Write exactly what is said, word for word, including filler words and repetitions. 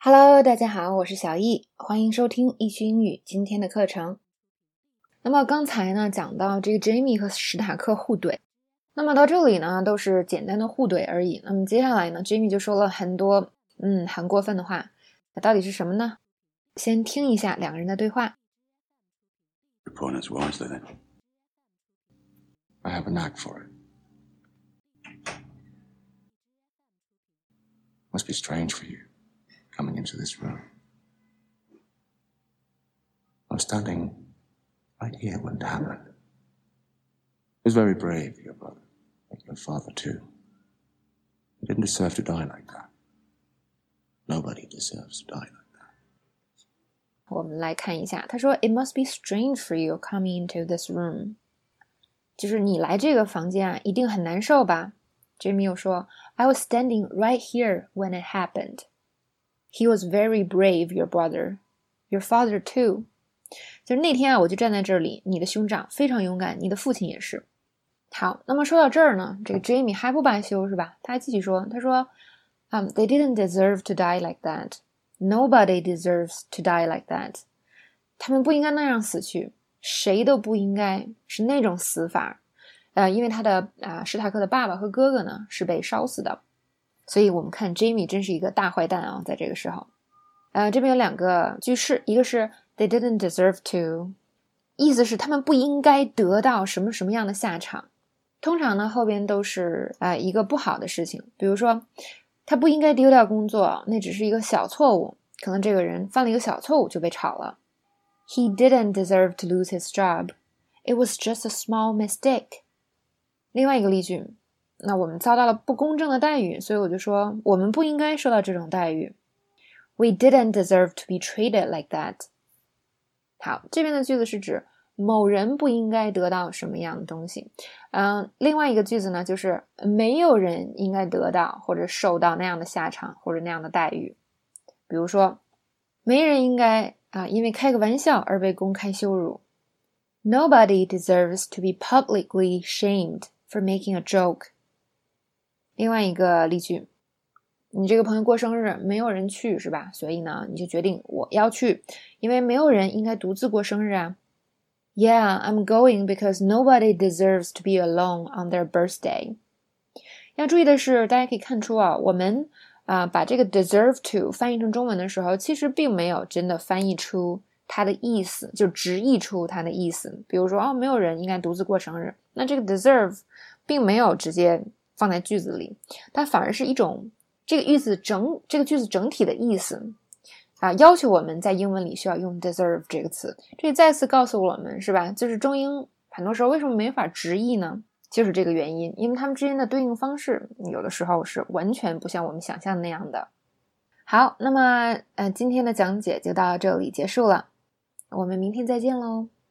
Hello， 大家好，我是小易，欢迎收听易趣英语今天的课程。那么刚才呢讲到这个 Jamie 和史塔克互怼，那么到这里呢都是简单的互怼而已。那么接下来呢 Jamie 就说了很多嗯很过分的话，那到底是什么呢？先听一下两个人的对话。 Your opponent's wisely then. I have a knack for it. Must be strange for you coming into this room. I'm standing right here when it happened. It was very brave, your brother, like your father too. He didn't deserve to die like that. Nobody deserves to die like that. 我们来看一下，他说 It must be strange for you coming into this room. 就是你来这个房间啊，一定很难受吧。 Jamie 又说 I was standing right here when it happened. He was very brave, your brother. Your father too. 就是那天啊，我就站在这里，你的兄长非常勇敢，你的父亲也是。好，那么说到这儿呢，这个 Jamie 还不罢休是吧？他还继续说，他说、um, They didn't deserve to die like that. Nobody deserves to die like that. 他们不应该那样死去，谁都不应该是那种死法。呃，因为他的啊、呃、史塔克的爸爸和哥哥呢是被烧死的。所以我们看 Jamie 真是一个大坏蛋啊，在这个时候。呃，这边有两个句式，一个是 they didn't deserve to， 意思是他们不应该得到什么什么样的下场。通常呢，后边都是呃一个不好的事情，比如说他不应该丢掉工作，那只是一个小错误，可能这个人犯了一个小错误就被炒了。He didn't deserve to lose his job. It was just a small mistake. 另外一个例句，那我们遭到了不公正的待遇，所以我就说我们不应该受到这种待遇。We didn't deserve to be treated like that. 好，这边的句子是指某人不应该得到什么样的东西。嗯，另外一个句子呢，就是没有人应该得到或者受到那样的下场或者那样的待遇。比如说，没人应该啊，因为开个玩笑而被公开羞辱。Nobody deserves to be publicly shamed for making a joke. 另外一个例句，你这个朋友过生日，没有人去是吧？所以呢，你就决定我要去，因为没有人应该独自过生日啊。Yeah, I'm going because nobody deserves to be alone on their birthday. 要注意的是，大家可以看出啊，我们啊、呃、把这个 deserve to 翻译成中文的时候，其实并没有真的翻译出它的意思，就直译出它的意思。比如说，哦，没有人应该独自过生日，那这个 deserve 并没有直接放在句子里，它反而是一种这个句子整这个句子整体的意思啊，要求我们在英文里需要用 deserve 这个词。这再次告诉我们是吧，就是中英很多时候为什么没法直译呢？就是这个原因，因为它们之间的对应方式有的时候是完全不像我们想象的那样的。好，那么呃，今天的讲解就到这里结束了，我们明天再见喽。